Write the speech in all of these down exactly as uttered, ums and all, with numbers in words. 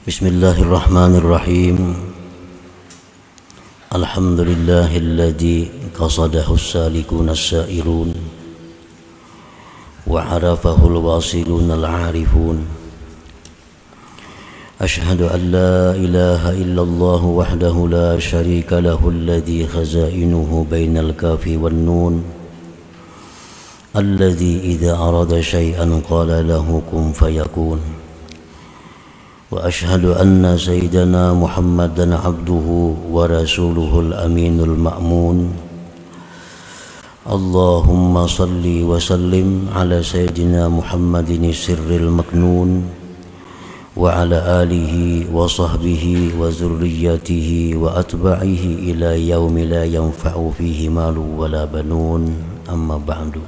Bismillahirrahmanirrahim. Alhamdulillahilladzi qasadahu as-salikuna as-sairun wa 'arafahu al-wasiluna al-'arifun. Ashhadu an la ilaha illallah wahdahu la syarika lahu alladzi khazainuhu bainal kafi wan nun, alladzi idza arada syai'an qala lahu kun fayakun. Wa ashhadu anna sayyidana Muhammadan abduhu wa rasuluhul aminul ma'mun. Allahumma salli wa sallim ala sayyidina Muhammadin sirril maknun wa ala alihi wa sahbihi wa zurriyyatihi wa atba'ihi ila yaumi la yanfa'u fihi malu wa la banun. Amma ba'du.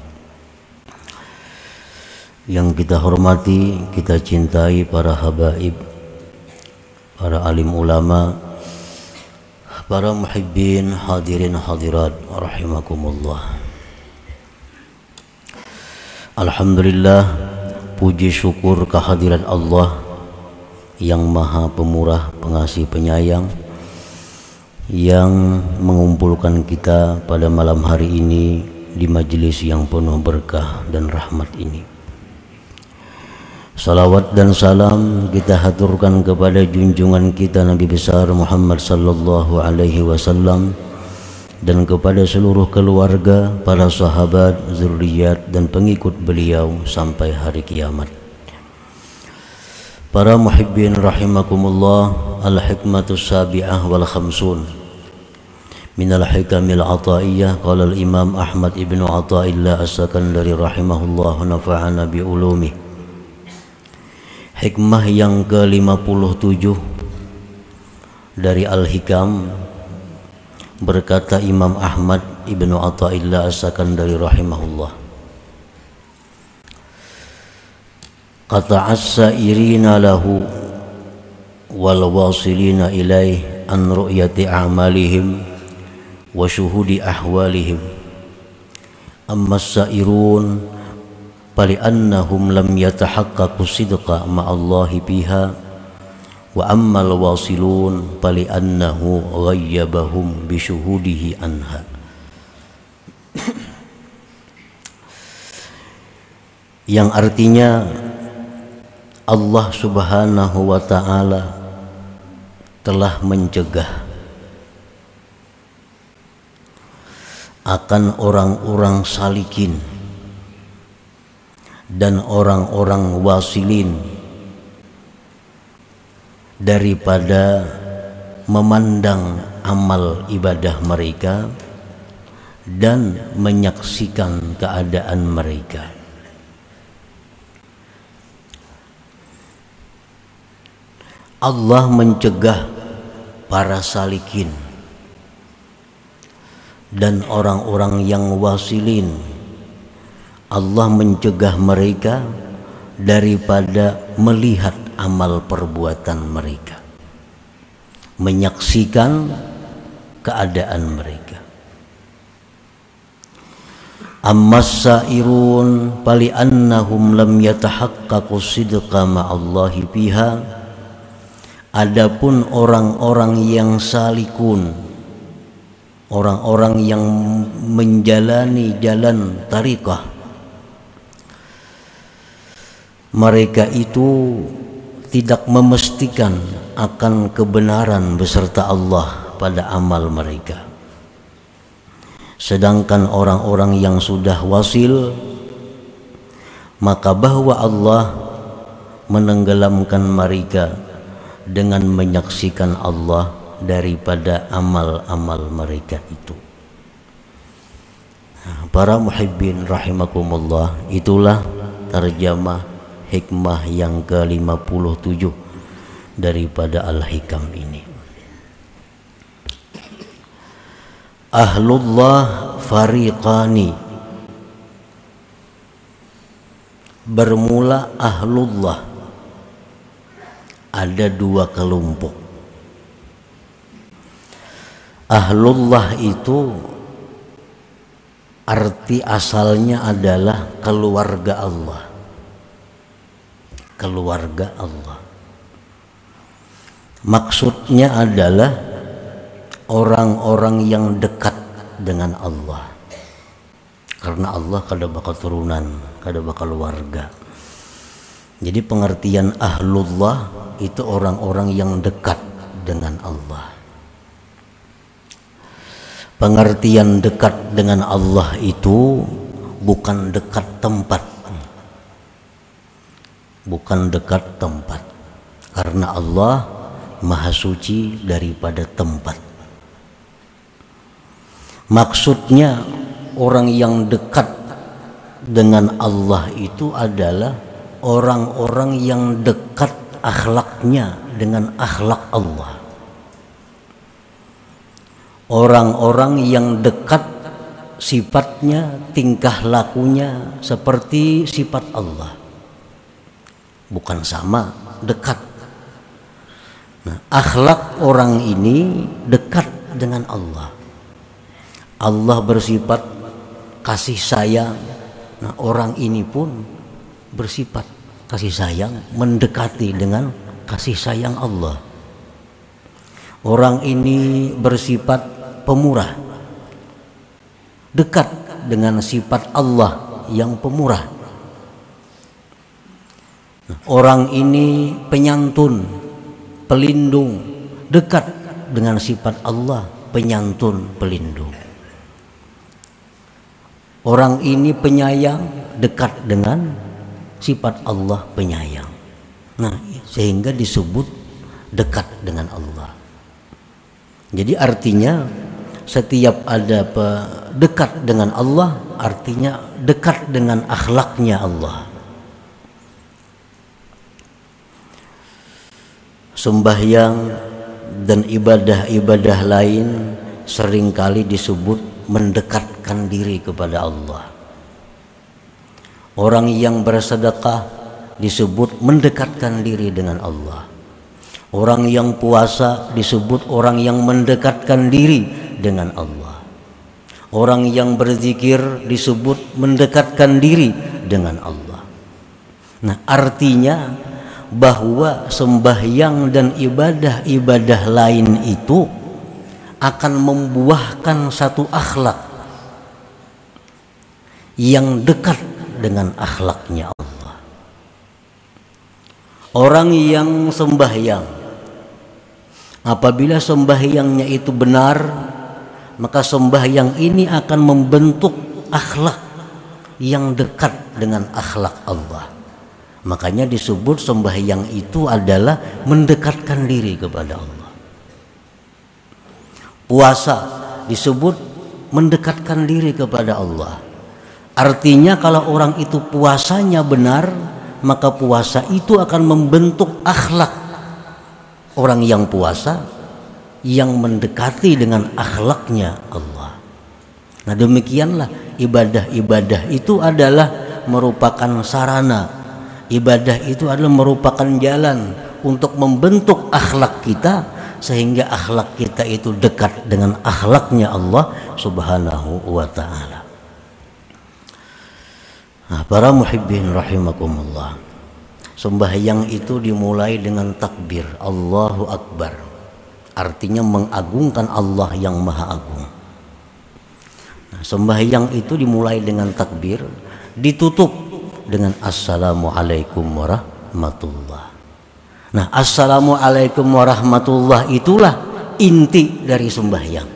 Yang kita hormati, kita cintai para habaib, para alim ulama, para muhibbin, hadirin hadirat rahimakumullah. Alhamdulillah, puji syukur kehadirat Allah yang maha pemurah, pengasih, penyayang, yang mengumpulkan kita pada malam hari ini di majelis yang penuh berkah dan rahmat ini. Salawat dan salam kita haturkan kepada junjungan kita Nabi besar Muhammad sallallahu alaihi wasallam dan kepada seluruh keluarga, para sahabat, zuriat dan pengikut beliau sampai hari kiamat. Para muhibbin rahimakumullah, al-hikmatus sabi'ah wal khamsun minal hikamil ataiyah. Qala al-imam Ahmad ibnu Athaillah as-Sakandari rahimahullah nafa'ana bi ulumih. Hikmah yang ke lima puluh tujuh dari Al-Hikam, berkata Imam Ahmad ibnu Athaillah as-Sakandari rahimahullah, qata'as sairina lahu wal wasilina ilaih an ru'yati a'malihim wa syuhudi ahwalihim. Amma sairun فلأنهم لم يتحققوا صدقا مع الله بها وأما الواصلون فلأنه غيبهم بشهوده عنها. Yang artinya Allah subhanahu wa ta'ala telah mencegah akan orang-orang salikin dan orang-orang wasilin daripada memandang amal ibadah mereka dan menyaksikan keadaan mereka. Allah mencegah para salikin dan orang-orang yang wasilin, Allah mencegah mereka daripada melihat amal perbuatan mereka, menyaksikan keadaan mereka. Ammas sairun fali annahum lam yatahaqqaqu sidqa ma'allahi biha. Adapun orang-orang yang salikun, orang-orang yang menjalani jalan tariqah, mereka itu tidak memastikan akan kebenaran beserta Allah pada amal mereka. Sedangkan orang-orang yang sudah wasil, maka bahwa Allah menenggelamkan mereka dengan menyaksikan Allah daripada amal-amal mereka itu. Para muhibbin rahimakumullah, itulah terjemah hikmah yang ke lima puluh tujuh daripada Al-Hikam ini. Ahlullah fariqani. Bermula ahlullah ada dua kelompok. Ahlullah itu arti asalnya adalah keluarga Allah. Keluarga Allah. Maksudnya adalah orang-orang yang dekat dengan Allah. Karena Allah kada bakal turunan, kada bakal warga. Jadi pengertian ahlullah itu orang-orang yang dekat dengan Allah. Pengertian dekat dengan Allah itu bukan dekat tempat. Bukan dekat tempat. Karena Allah Maha suci daripada tempat. Maksudnya orang yang dekat dengan Allah itu adalah orang-orang yang dekat akhlaknya dengan akhlak Allah. Orang-orang yang dekat sifatnya, tingkah lakunya seperti sifat Allah. Bukan sama, dekat. Nah, akhlak orang ini dekat dengan Allah. Allah bersifat kasih sayang. Nah, orang ini pun bersifat kasih sayang, mendekati dengan kasih sayang Allah. Orang ini bersifat pemurah, dekat dengan sifat Allah yang pemurah. Nah, orang ini penyantun, pelindung, dekat dengan sifat Allah, penyantun, pelindung. Orang ini penyayang, dekat dengan sifat Allah, penyayang. Nah, sehingga disebut dekat dengan Allah. Jadi artinya setiap ada dekat dengan Allah, artinya dekat dengan akhlaknya Allah. Sembahyang dan ibadah-ibadah lain seringkali disebut mendekatkan diri kepada Allah. Orang yang bersedekah disebut mendekatkan diri dengan Allah. Orang yang puasa disebut orang yang mendekatkan diri dengan Allah. Orang yang berzikir disebut mendekatkan diri dengan Allah. Nah, artinya bahwa sembahyang dan ibadah-ibadah lain itu akan membuahkan satu akhlak yang dekat dengan akhlaknya Allah. Orang yang sembahyang, apabila sembahyangnya itu benar, maka sembahyang ini akan membentuk akhlak yang dekat dengan akhlak Allah. Makanya disebut sembahyang itu adalah mendekatkan diri kepada Allah. Puasa disebut mendekatkan diri kepada Allah. Artinya kalau orang itu puasanya benar, maka puasa itu akan membentuk akhlak orang yang puasa yang mendekati dengan akhlaknya Allah. Nah, demikianlah ibadah-ibadah itu adalah merupakan sarana. Ibadah itu adalah merupakan jalan untuk membentuk akhlak kita sehingga akhlak kita itu dekat dengan akhlaknya Allah Subhanahu wa ta'ala. Nah, para muhibbin rahimakumullah, sembahyang itu dimulai dengan takbir Allahu Akbar, artinya mengagungkan Allah yang maha agung. Nah, sembahyang itu dimulai dengan takbir, ditutup dengan assalamualaikum warahmatullah. Nah, assalamualaikum warahmatullah itulah inti dari sembahyang.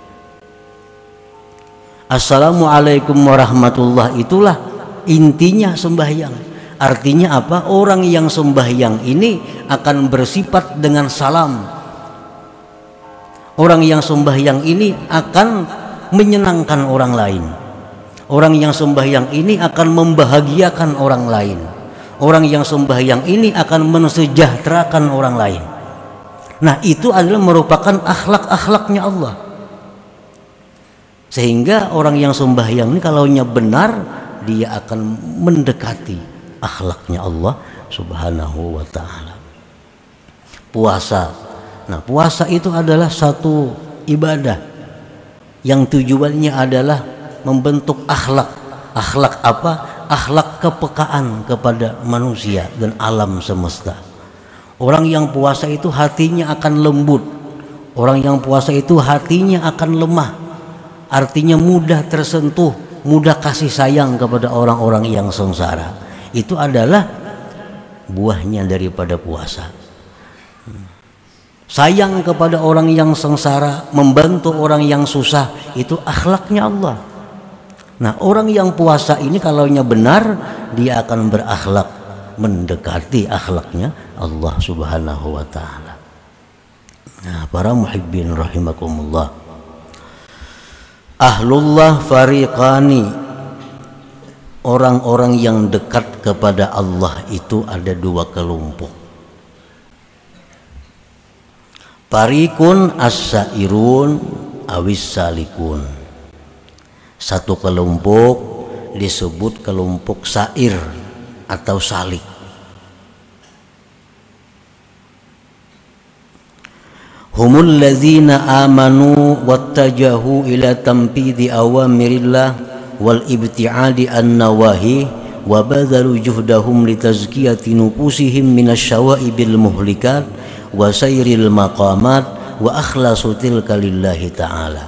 Assalamualaikum warahmatullah itulah intinya sembahyang. Artinya apa? Orang yang sembahyang ini akan bersifat dengan salam. Orang yang sembahyang ini akan menyenangkan orang lain. Orang yang sembahyang ini akan membahagiakan orang lain. Orang yang sembahyang ini akan mensejahterakan orang lain. Nah, itu adalah merupakan akhlak-akhlaknya Allah. Sehingga orang yang sembahyang ini kalaunya benar, dia akan mendekati akhlaknya Allah Subhanahu wa ta'ala. Puasa. Nah, puasa itu adalah satu ibadah yang tujuannya adalah membentuk akhlak. Akhlak apa? Akhlak kepekaan kepada manusia dan alam semesta. Orang yang puasa itu hatinya akan lembut. Orang yang puasa itu hatinya akan lemah. Artinya mudah tersentuh, mudah kasih sayang kepada orang-orang yang sengsara. Itu adalah buahnya daripada puasa. Sayang kepada orang yang sengsara, membantu orang yang susah, itu akhlaknya Allah. Nah, orang yang puasa ini kalaunya benar, dia akan berakhlak mendekati akhlaknya Allah Subhanahu wa taala. Nah, para muhibbin rahimakumullah. Ahlullah fariqani. Orang-orang yang dekat kepada Allah itu ada dua kelompok. Fariqun as-sairun awis salikun. Satu kelompok disebut kelompok sair atau salik. Humul ladzina amanu wattajahu ila tanfidhi awamirillah wal ibtiadi an nawahi wa badhalu juhdahum litazkiyati nufusihim minasyawaibil muhlikat wa sayril maqamat wa akhlasu tilka lillahi ta'ala.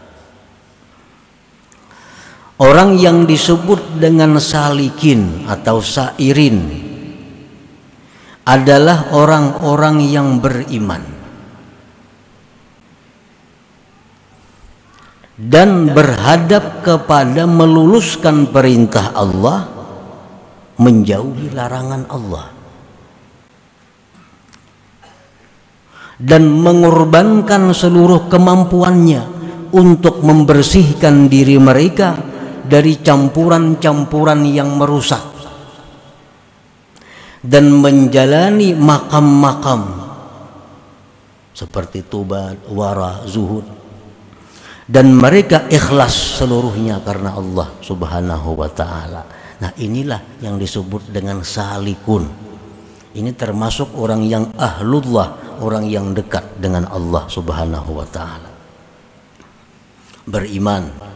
Orang yang disebut dengan salikin atau sairin adalah orang-orang yang beriman dan berhadap kepada meluluskan perintah Allah, menjauhi larangan Allah, dan mengorbankan seluruh kemampuannya untuk membersihkan diri mereka dari campuran-campuran yang merusak dan menjalani makam-makam seperti tobat, wara, zuhud, dan mereka ikhlas seluruhnya karena Allah Subhanahu wa taala. Nah, inilah yang disebut dengan salikun. Ini termasuk orang yang ahlullah, orang yang dekat dengan Allah Subhanahu wa taala. Beriman,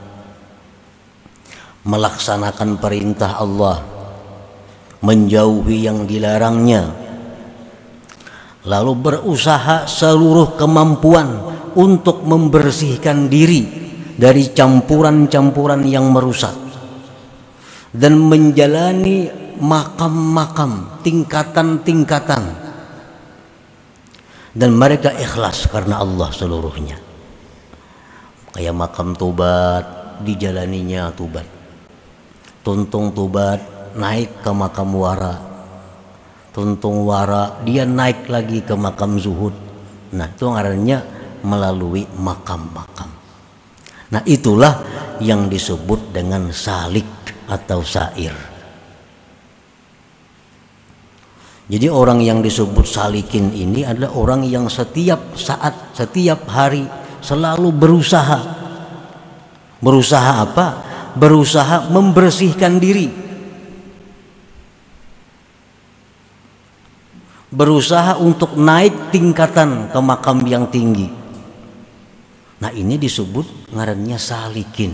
melaksanakan perintah Allah, menjauhi yang dilarangnya, lalu berusaha seluruh kemampuan untuk membersihkan diri dari campuran-campuran yang merusak, dan menjalani makam-makam, tingkatan-tingkatan, dan mereka ikhlas karena Allah seluruhnya. Kayak makam tobat, dijalaninya tobat. Tuntung tobat, naik ke makam wara. Tuntung wara, dia naik lagi ke makam zuhud. Nah, itu ngarannya melalui makam-makam. Nah, itulah yang disebut dengan salik atau sair. Jadi orang yang disebut salikin ini adalah orang yang setiap saat, setiap hari selalu berusaha. Berusaha apa? Berusaha membersihkan diri, berusaha untuk naik tingkatan ke makam yang tinggi. Nah, ini disebut ngarannya salikin.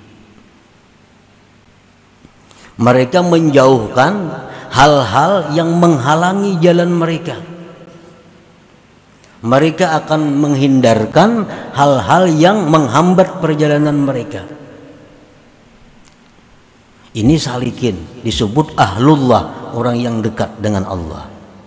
Mereka menjauhkan hal-hal yang menghalangi jalan mereka. Mereka akan menghindarkan hal-hal yang menghambat perjalanan mereka. Ini salikin, disebut ahlullah, orang yang dekat dengan Allah.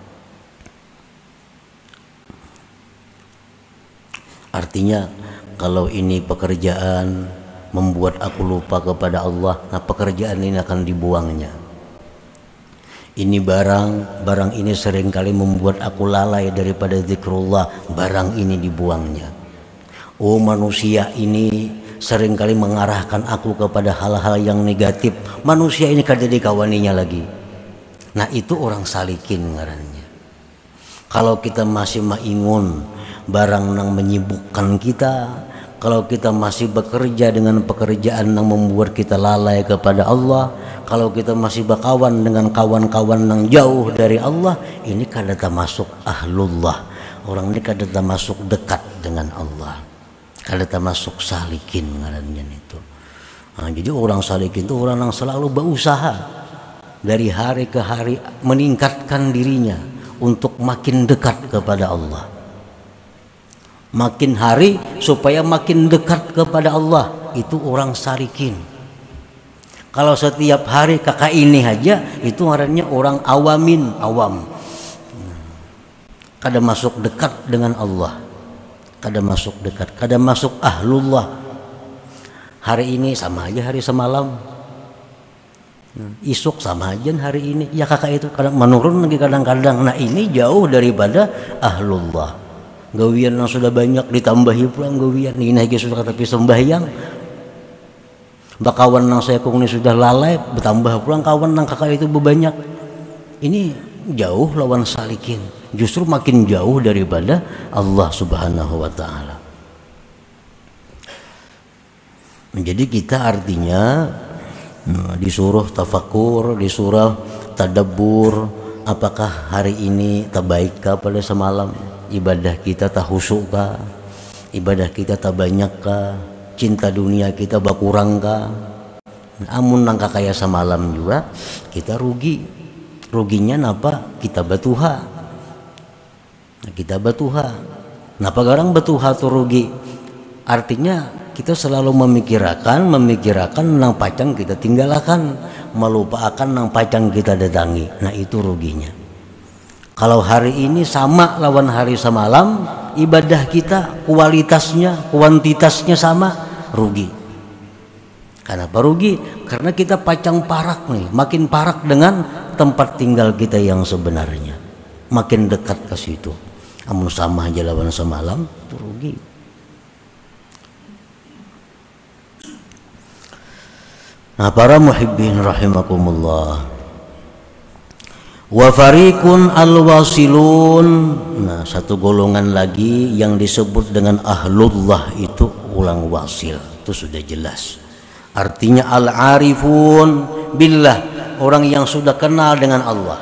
Artinya, kalau ini pekerjaan membuat aku lupa kepada Allah, nah pekerjaan ini akan dibuangnya. Ini barang, barang ini seringkali membuat aku lalai daripada zikrullah, barang ini dibuangnya. Oh, manusia ini seringkali mengarahkan aku kepada hal-hal yang negatif, manusia ini kada dikawaninya lagi. Nah, itu orang salikin ngarannya. Kalau kita masih maingun barang yang menyibukkan kita, kalau kita masih bekerja dengan pekerjaan yang membuat kita lalai kepada Allah, kalau kita masih berkawan dengan kawan-kawan yang jauh dari Allah, ini kada termasuk ahlullah. Orang ini kada termasuk dekat dengan Allah, kada termasuk salikin ngarannya itu. Nah, jadi orang salikin itu orang yang selalu berusaha dari hari ke hari meningkatkan dirinya untuk makin dekat kepada Allah. Makin hari supaya makin dekat kepada Allah, itu orang salikin. Kalau setiap hari kakak ini aja, itu ngarannya orang awamin, awam. Kada masuk dekat dengan Allah, kada masuk dekat, kada masuk ahlullah. Hari ini sama aja hari semalam, isuk sama aja hari ini. Ya kakak itu kadang menurun lagi kadang-kadang. Nah ini jauh daripada ahlullah. Gawian yang sudah banyak ditambahi pulang gawian. Ini lagi sudah tapi sembahyang. Bakawan nang saya kung ini sudah lalai, bertambah pulang kawan nang kakak itu berbanyak. Ini jauh lawan salikin. Justru makin jauh daripada Allah Subhanahu wa taala. Jadi kita artinya disuruh tafakur, disuruh tadabbur, apakah hari ini tabaik kah pada semalam, ibadah kita tak khusyuk kah, ibadah kita tak banyak kah, cinta dunia kita berkurang kah. Amun nangka kaya semalam juga kita rugi. Ruginya napa? Kita batuha. Kita batuha. Napa garang batuha tuh rugi? Artinya kita selalu memikirkan, memikirkan nang pacang kita tinggalkan, melupakan nang pacang kita datangi. Nah itu ruginya. Kalau hari ini sama lawan hari semalam, ibadah kita kualitasnya, kuantitasnya sama, rugi. Kenapa rugi? Karena kita pacang parak nih, makin parak dengan tempat tinggal kita yang sebenarnya, makin dekat ke situ. Amun sama aja lawan semalam, itu rugi. Nah para muhibbin rahimakumullah, wa fariqun al-wasilun. Nah satu golongan lagi yang disebut dengan ahlullah itu ulang wasil, itu sudah jelas. Artinya al-arifun billah, orang yang sudah kenal dengan Allah.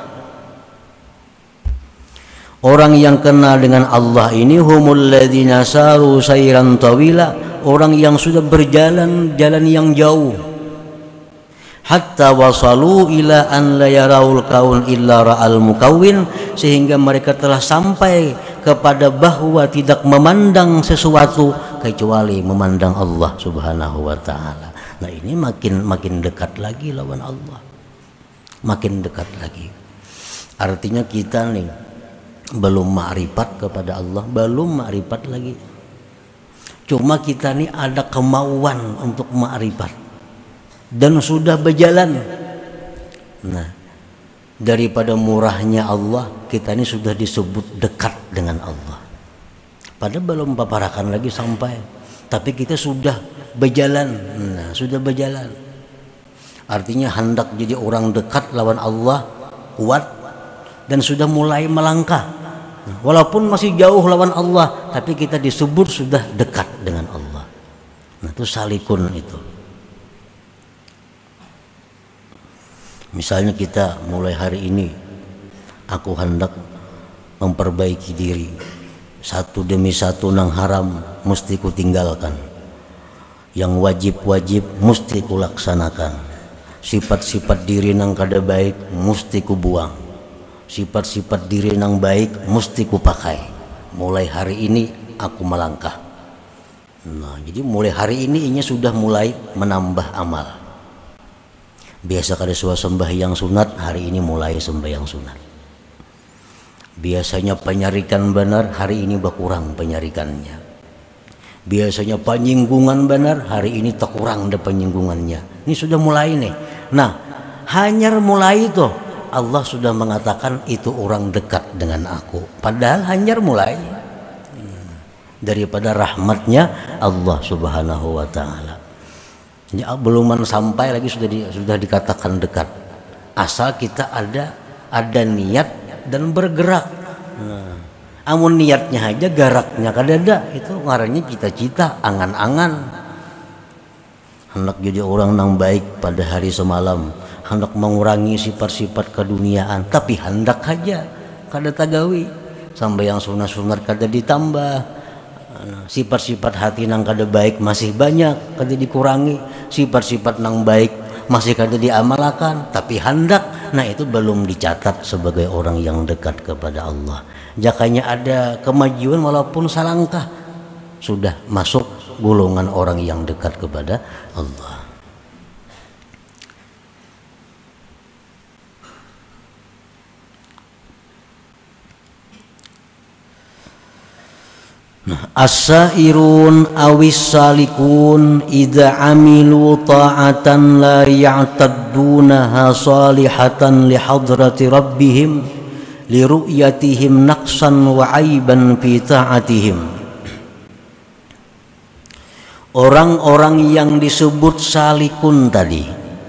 Orang yang kenal dengan Allah ini humul ladzina saru sayran tawila, orang yang sudah berjalan jalan yang jauh. Hatta wasalu ila an la yaraul kaun illa ra'al mukawwin, sehingga mereka telah sampai kepada bahwa tidak memandang sesuatu kecuali memandang Allah Subhanahu wa taala. Nah ini makin makin dekat lagi lawan Allah, makin dekat lagi. Artinya kita nih belum ma'rifat kepada Allah, belum ma'rifat lagi. Cuma kita nih ada kemauan untuk ma'rifat dan sudah berjalan. Nah daripada murahnya Allah, kita ini sudah disebut dekat dengan Allah. Padahal belum paparakan lagi sampai, tapi kita sudah berjalan. Nah sudah berjalan, artinya hendak jadi orang dekat lawan Allah, kuat, dan sudah mulai melangkah. Nah, walaupun masih jauh lawan Allah, tapi kita disebut sudah dekat dengan Allah. Nah itu salikun itu. Misalnya kita mulai hari ini, aku hendak memperbaiki diri, satu demi satu nang haram mesti ku tinggalkan, yang wajib-wajib mesti ku laksanakan, sifat-sifat diri nang kada baik mesti ku buang, sifat-sifat diri nang baik mesti ku pakai. Mulai hari ini aku melangkah. Nah jadi mulai hari ini ini sudah mulai menambah amal. Biasa kada suah sembahyang sunat, hari ini mulai sembahyang sunat. Biasanya penyarikan benar, hari ini berkurang penyarikannya. Biasanya penyinggungan benar, hari ini terkurang ada penyinggungannya. Ini sudah mulai nih. Nah hanya mulai itu Allah sudah mengatakan itu orang dekat dengan aku. Padahal hanya mulai daripada rahmatnya Allah Subhanahu wa taala. Jadi belum sampai lagi sudah di, sudah dikatakan dekat. Asal kita ada ada niat dan bergerak. Nah, amun niatnya aja garaknya kada ada, itu ngarannya cita-cita, angan-angan. Hendak jadi orang yang baik pada hari semalam, hendak mengurangi sifat-sifat keduniaan, tapi hendak aja kada tagawi. Sampai yang sunat-sunat kada ditambah. Sifat-sifat hati nang kada baik masih banyak, kada dikurangi. Sifat-sifat nang baik masih kada diamalkan, tapi hendak nah itu belum dicatat sebagai orang yang dekat kepada Allah. Jakanya ada kemajuan walaupun salangkah, sudah masuk golongan orang yang dekat kepada Allah. Nah, as-sairun awis salikun idza amilu ta'atan la ya'taddunaha salihatan li hadrati rabbihim li ru'yatihim naqsan wa aiban fi ta'atihim. Orang-orang yang disebut salikun tadi,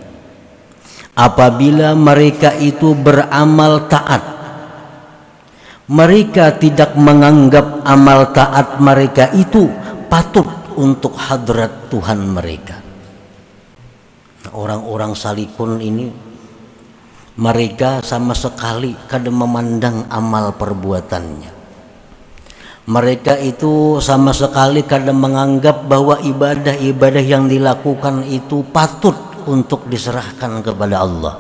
apabila mereka itu beramal taat, mereka tidak menganggap amal taat mereka itu patut untuk hadrat Tuhan mereka. Orang-orang salikun ini, mereka sama sekali kada memandang amal perbuatannya. Mereka itu sama sekali kada menganggap bahwa ibadah-ibadah yang dilakukan itu patut untuk diserahkan kepada Allah.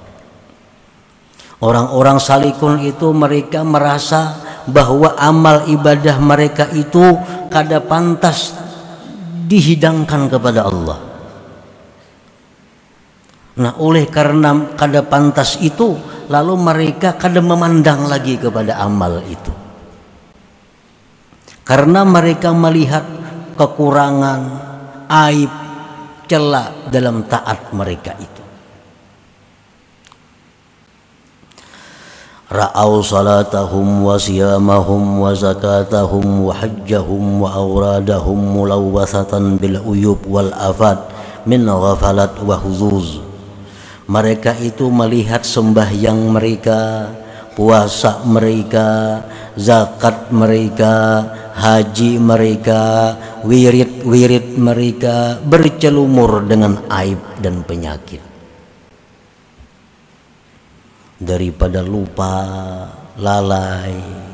Orang-orang salikun itu mereka merasa bahwa amal ibadah mereka itu kada pantas dihidangkan kepada Allah. Nah, oleh karena kada pantas itu, lalu mereka kada memandang lagi kepada amal itu. Karena mereka melihat kekurangan, aib, celah dalam taat mereka itu. Ra'au salatahum wa siyamahum wa zakatahum wa hajjahum wa awradahum mulawwathatan bil uyub wal afat min ghafalat wa huzuz. Mereka itu melihat sembahyang mereka, puasa mereka, zakat mereka, haji mereka, wirid-wirid mereka bercelumur dengan aib dan penyakit. Daripada lupa, lalai,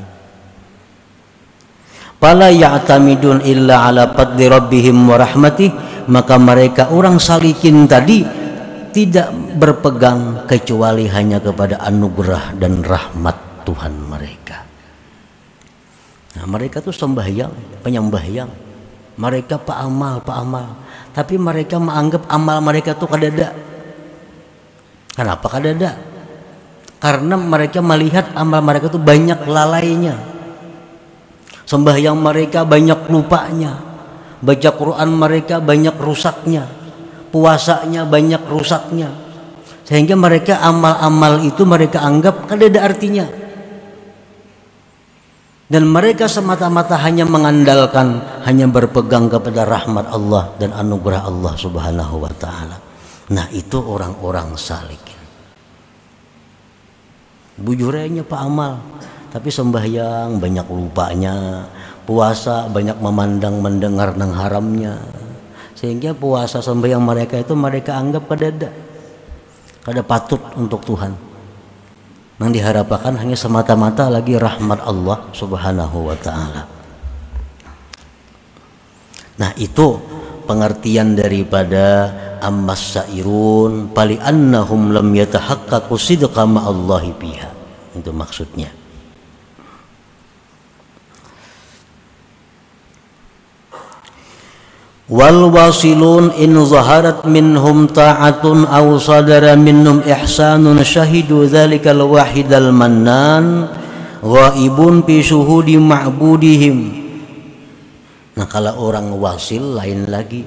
fala ya'tamidun illa ala fadli rabbihim wa rahmatih, maka mereka orang salikin tadi tidak berpegang kecuali hanya kepada anugerah dan rahmat Tuhan mereka. Nah, mereka tuh sembahyang, penyembahyang, mereka paamal, paamal, tapi mereka menganggap amal mereka tuh kadada. Kenapa kadada? Karena mereka melihat amal mereka itu banyak lalainya, sembahyang mereka banyak lupanya, baca Quran mereka banyak rusaknya, puasanya banyak rusaknya, sehingga mereka amal-amal itu mereka anggap kada ada artinya, dan mereka semata-mata hanya mengandalkan, hanya berpegang kepada rahmat Allah dan anugerah Allah Subhanahu wa Ta'ala. Nah, itu orang-orang salik. Bujurnya pak amal, tapi sembahyang banyak lupanya, puasa banyak memandang mendengar nang haramnya, sehingga puasa sembahyang mereka itu mereka anggap kadada, kada patut untuk Tuhan. Yang diharapkan hanya semata-mata lagi rahmat Allah Subhanahu wa Ta'ala. Nah, itu pengertian daripada ammas sairun pali annahum lam yatahaqqaqu sidqa ma'allahi biha. Itu maksudnya. Wal wasilun in zaharat minhum ta'atun aw sadara minhum ihsanun syahidu dzalikal wahidal mannan ghaibun fi syuhudi ma'budihim. Nah, kalau orang wasil lain lagi.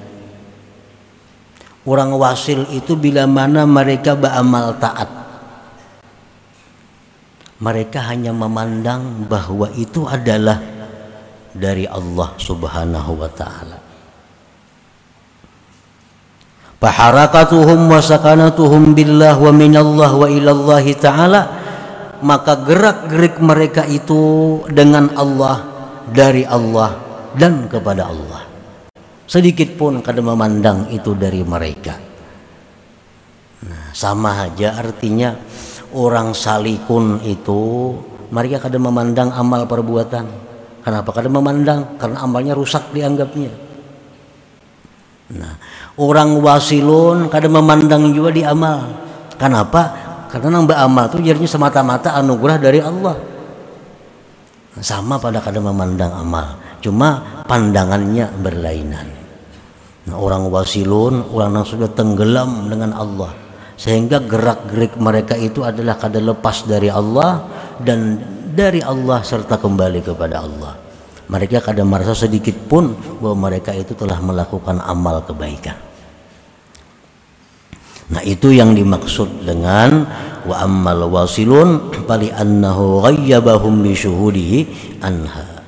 Orang wasil itu bila mana mereka beramal taat, mereka hanya memandang bahwa itu adalah dari Allah Subhanahu wa Ta'ala. Faharakatuhum wa sakanatuhum billah wa minallah wa ilallah ta'ala, maka gerak-gerik mereka itu dengan Allah, dari Allah dan kepada Allah. Sedikit pun kada memandang itu dari mereka. Nah, sama aja artinya orang salikun itu mereka kada memandang amal perbuatan. Kenapa kada memandang? Karena amalnya rusak dianggapnya. Nah, orang wasilun kada memandang juga di amal. Kenapa? Karena nang beramal itu jadinya semata-mata anugerah dari Allah. Sama pada kadang memandang amal, cuma pandangannya berlainan. Nah, orang wasilun, orang yang sudah tenggelam dengan Allah, sehingga gerak-gerik mereka itu adalah kada lepas dari Allah dan dari Allah serta kembali kepada Allah. Mereka kada merasa sedikit pun bahwa mereka itu telah melakukan amal kebaikan. Nah, itu yang dimaksud dengan wa ammal wasilun fali annahu ghayyabahum bi syuhudihi anha.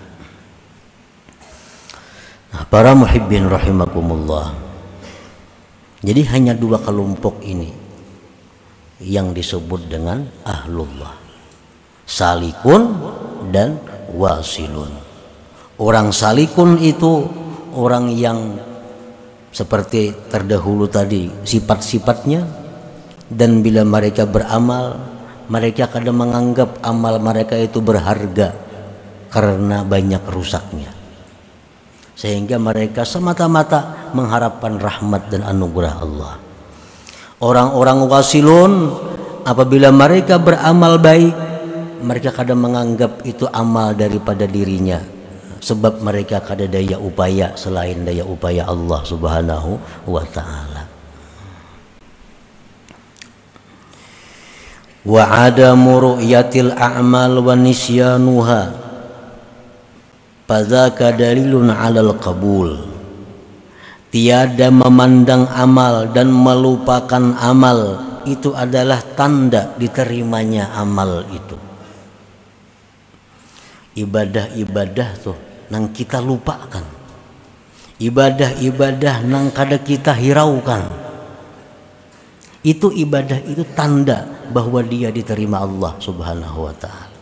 Nah, para muhibbin rahimakumullah. Jadi hanya dua kelompok ini yang disebut dengan ahlullah, salikun dan wasilun. Orang salikun itu orang yang seperti terdahulu tadi sifat-sifatnya, dan bila mereka beramal mereka kadang menganggap amal mereka itu berharga karena banyak rusaknya, sehingga mereka semata-mata mengharapkan rahmat dan anugerah Allah. Orang-orang wasilun apabila mereka beramal baik, mereka kadang menganggap itu amal daripada dirinya, sebab mereka kada daya upaya selain daya upaya Allah Subhanahu wa ta'ala. Wa adamu ru'yatil a'mal wa nisyanuha fadzaka dalilun 'alal qabul. Tiada memandang amal dan melupakan amal itu adalah tanda diterimanya amal itu. Ibadah-ibadah tuh nang kita lupakan, ibadah-ibadah nang kada kita hiraukan, itu ibadah itu tanda bahwa dia diterima Allah Subhanahu wa ta'ala.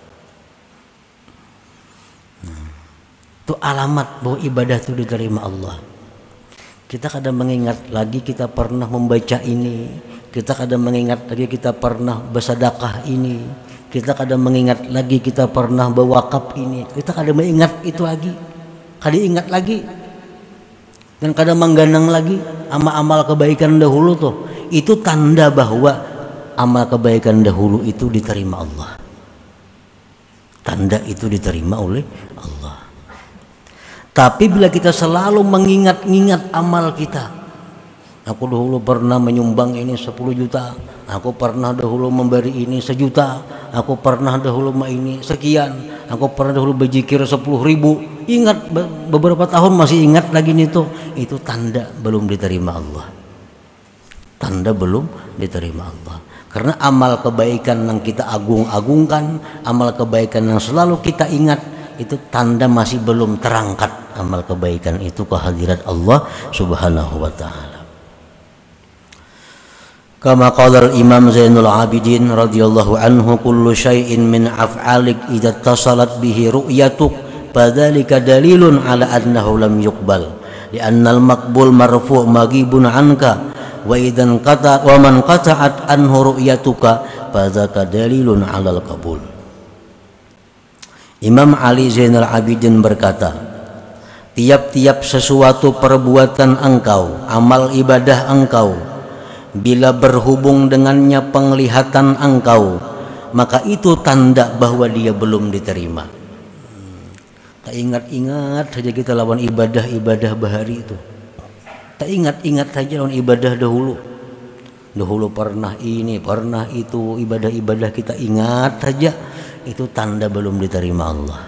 Nah, itu alamat bahwa ibadah itu diterima Allah. Kita kadang mengingat lagi kita pernah membaca ini, kita kadang mengingat lagi kita pernah bersedekah ini, kita kadang mengingat lagi kita pernah berwakaf ini, kita kadang mengingat itu lagi, kadang ingat lagi, dan kadang menggandeng lagi amal-amal kebaikan dahulu tuh. Itu tanda bahwa amal kebaikan dahulu itu diterima Allah. Tanda itu diterima oleh Allah. Tapi bila kita selalu mengingat-ingat amal kita, aku dahulu pernah menyumbang ini sepuluh juta, aku pernah dahulu memberi ini sejuta, aku pernah dahulu ini sekian, aku pernah dahulu berzikir sepuluh ribu, ingat beberapa tahun masih ingat lagi nih tuh, itu tanda belum diterima Allah. Tanda belum diterima Allah. Karena amal kebaikan yang kita agung-agungkan, amal kebaikan yang selalu kita ingat, itu tanda masih belum terangkat amal kebaikan itu ke hadirat Allah Subhanahu wa ta'ala. Kama qala al-Imam Zainul Abidin radhiyallahu anhu, kullu syai'in min af'alik idza tasalat bihi ru'yatuk fadzalika dalilun ala annahu lam yuqbal li'anna al-maqbul marfu' maghibun anka wa idzan qata wa man qata'at anhu ru'yatuka fadzaka dalilun 'alal qabul. Imam Ali Zainal Abidin berkata, tiap-tiap sesuatu perbuatan engkau, amal ibadah engkau, bila berhubung dengannya penglihatan engkau, maka itu tanda bahwa dia belum diterima. Tak ingat-ingat saja kita lawan ibadah-ibadah bahari itu. Tak ingat-ingat saja lawan ibadah dahulu. Dahulu pernah ini, pernah itu, ibadah-ibadah kita ingat saja, itu tanda belum diterima Allah.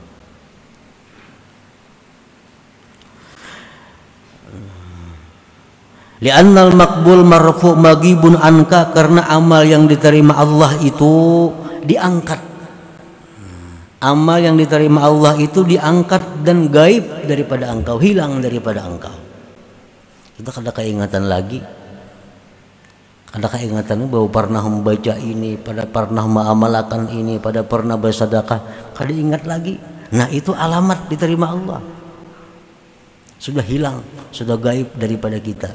Li'annal maqbul marfu' maghibun anka, karena amal yang diterima Allah itu diangkat. Amal yang diterima Allah itu diangkat dan gaib daripada engkau, hilang daripada engkau. Kita kada keingatan lagi. Ada keingatan bahwa pernah membaca ini, pada pernah mengamalkan ini, pada pernah bersedekah, kada ingat lagi. Nah, itu alamat diterima Allah. Sudah hilang, sudah gaib daripada kita.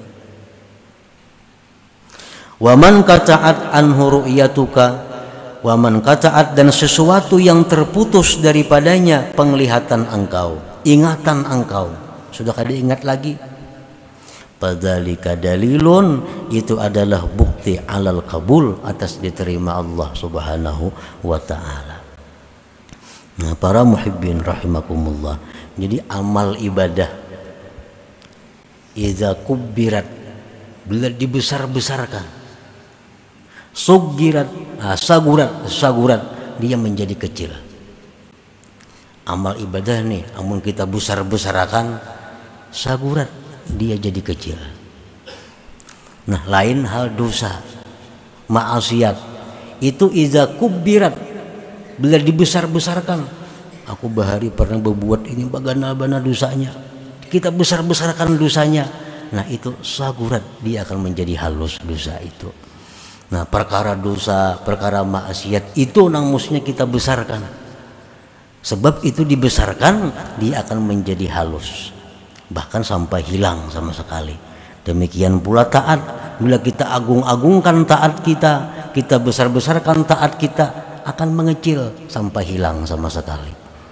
Wa man qata'at anhu ru'yatuka, wa man qata'at, dan sesuatu yang terputus daripadanya penglihatan engkau, ingatan engkau, sudah kada ingat lagi. Fadzalika dalilun, itu adalah bukti alal kabul, atas diterima Allah Subhanahu wa taala. Nah, para muhibbin rahimakumullah. Jadi amal ibadah idza kubbirat, bila dibesar-besarkan, sugirat, ah, sagurat, sagurat, dia menjadi kecil. Amal ibadah nih, amun kita besar-besarkan, sagurat, dia jadi kecil. Nah, lain hal dosa, maksiat, itu iza kubirat, bila dibesar-besarkan. Aku bahari pernah berbuat ini, bagaimana dosanya, kita besar-besarkan dosanya. Nah, itu sagurat, dia akan menjadi halus dosa itu. Nah, perkara dosa, perkara maksiat itu nang mestinya kita besarkan. Sebab itu dibesarkan, dia akan menjadi halus, bahkan sampai hilang sama sekali. Demikian pula taat, bila kita agung-agungkan taat kita, kita besar-besarkan taat kita, akan mengecil sampai hilang sama sekali.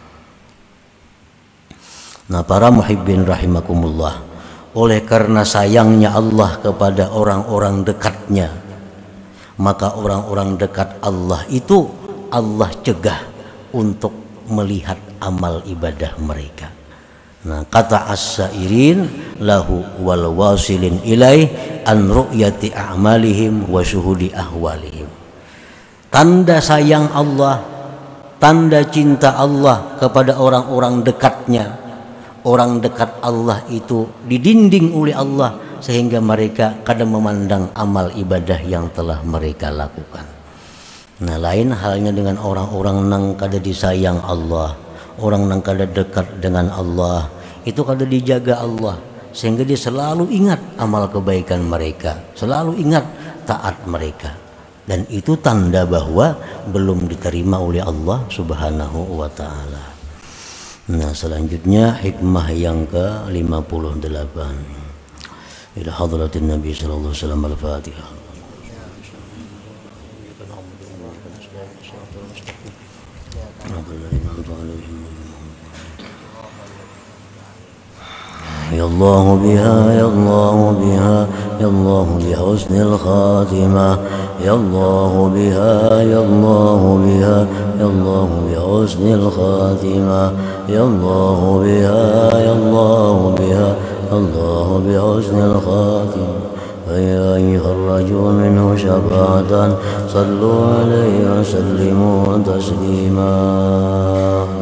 Nah, para muhibbin rahimakumullah, oleh karena sayangnya Allah kepada orang-orang dekatnya, maka orang-orang dekat Allah itu Allah cegah untuk melihat amal ibadah mereka. Nah, kata as-sairin lahu wal wasilin ilaih an ru'yati a'malihim wa syuhudi ahwalihim. Tanda sayang Allah, tanda cinta Allah kepada orang-orang dekatnya. Orang dekat Allah itu didinding oleh Allah sehingga mereka kadang memandang amal ibadah yang telah mereka lakukan. Nah, lain halnya dengan orang-orang nang kada disayang Allah, orang nang kada dekat dengan Allah, itu kada dijaga Allah, sehingga dia selalu ingat amal kebaikan mereka, selalu ingat taat mereka, dan itu tanda bahwa belum diterima oleh Allah Subhanahu wa taala. Nah, selanjutnya hikmah yang ke lima puluh delapan. Ila hadratin Nabi sallallahu alaihi wasallam, al-Fatihah. يا الله بها يا الله بها يا الله بحسن الخاتمة يا الله بها يا الله بها يا الله بحسن الخاتمة يا الله بها يا الله بها يا الله بحسن الخاتمة فيا أيها الرجل منه شفاعة صلوا عليه وسلموا تسليما.